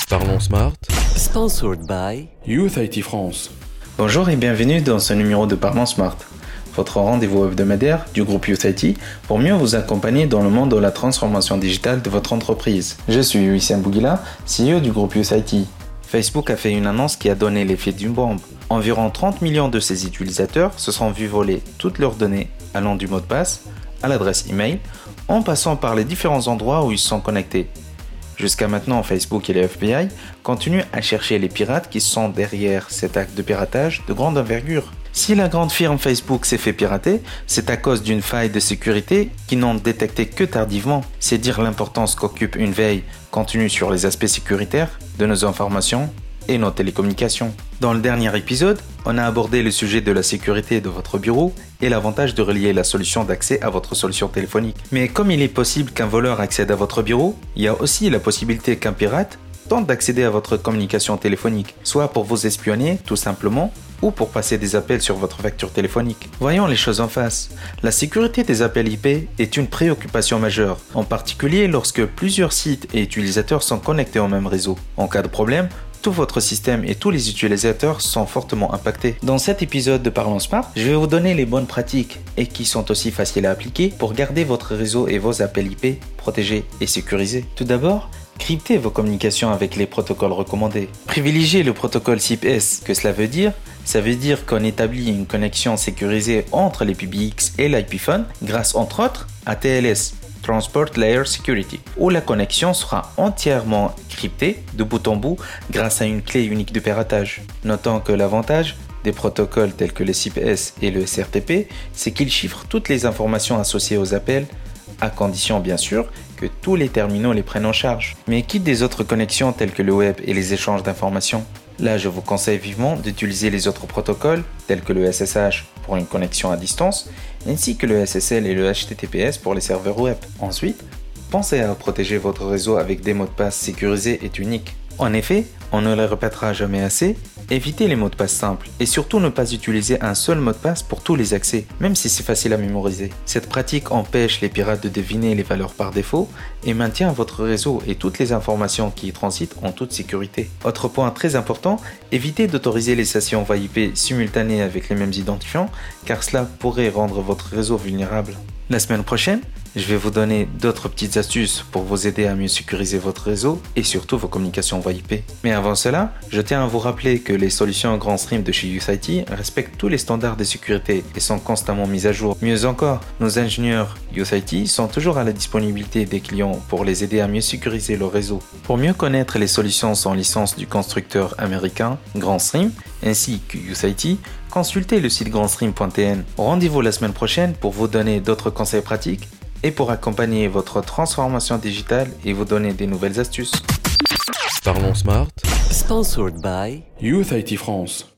Parlons Smart. Sponsored by Youth IT France. Bonjour et bienvenue dans ce numéro de Parlons Smart, votre rendez-vous hebdomadaire du groupe Youth IT pour mieux vous accompagner dans le monde de la transformation digitale de votre entreprise. Je suis Wissam Bouguila, CEO du groupe Youth IT. Facebook a fait une annonce qui a donné l'effet d'une bombe. Environ 30 millions de ses utilisateurs se sont vus voler toutes leurs données allant du mot de passe à l'adresse email en passant par les différents endroits où ils sont connectés. Jusqu'à maintenant, Facebook et les FBI continuent à chercher les pirates qui sont derrière cet acte de piratage de grande envergure. Si la grande firme Facebook s'est fait pirater, c'est à cause d'une faille de sécurité qu'ils n'ont détecté que tardivement. C'est dire l'importance qu'occupe une veille continue sur les aspects sécuritaires de nos informations et nos télécommunications. Dans le dernier épisode, on a abordé le sujet de la sécurité de votre bureau et l'avantage de relier la solution d'accès à votre solution téléphonique. Mais comme il est possible qu'un voleur accède à votre bureau, il y a aussi la possibilité qu'un pirate tente d'accéder à votre communication téléphonique, soit pour vous espionner tout simplement, ou pour passer des appels sur votre facture téléphonique. Voyons les choses en face. La sécurité des appels IP est une préoccupation majeure, en particulier lorsque plusieurs sites et utilisateurs sont connectés au même réseau. En cas de problème, tout votre système et tous les utilisateurs sont fortement impactés. Dans cet épisode de Parlons Smart, je vais vous donner les bonnes pratiques et qui sont aussi faciles à appliquer pour garder votre réseau et vos appels IP protégés et sécurisés. Tout d'abord, cryptez vos communications avec les protocoles recommandés. Privilégiez le protocole SIP-S. Que cela veut dire ? Ça veut dire qu'on établit une connexion sécurisée entre les PBX et l'IP phone grâce entre autres à TLS. Transport Layer Security, où la connexion sera entièrement cryptée de bout en bout grâce à une clé unique de piratage. Notons que l'avantage des protocoles tels que le SIP-S et le SRTP, c'est qu'ils chiffrent toutes les informations associées aux appels, à condition bien sûr que tous les terminaux les prennent en charge. Mais quitte des autres connexions telles que le web et les échanges d'informations. Là, je vous conseille vivement d'utiliser les autres protocoles tels que le SSH pour une connexion à distance, ainsi que le SSL et le HTTPS pour les serveurs web. Ensuite, pensez à protéger votre réseau avec des mots de passe sécurisés et uniques. En effet, on ne les répétera jamais assez, évitez les mots de passe simples et surtout ne pas utiliser un seul mot de passe pour tous les accès, même si c'est facile à mémoriser. Cette pratique empêche les pirates de deviner les valeurs par défaut et maintient votre réseau et toutes les informations qui y transitent en toute sécurité. Autre point très important, évitez d'autoriser les sessions VoIP simultanées avec les mêmes identifiants car cela pourrait rendre votre réseau vulnérable. La semaine prochaine, je vais vous donner d'autres petites astuces pour vous aider à mieux sécuriser votre réseau et surtout vos communications VoIP. Mais avant cela, je tiens à vous rappeler que les solutions Grand Stream de chez Youth IT respectent tous les standards de sécurité et sont constamment mises à jour. Mieux encore, nos ingénieurs Youth IT sont toujours à la disponibilité des clients pour les aider à mieux sécuriser leur réseau. Pour mieux connaître les solutions sans licence du constructeur américain Grand Stream ainsi que Youth IT, consultez le site grandstream.tn. Rendez-vous la semaine prochaine pour vous donner d'autres conseils pratiques et pour accompagner votre transformation digitale et vous donner des nouvelles astuces. Parlons Smart. Sponsored by Youth IT France.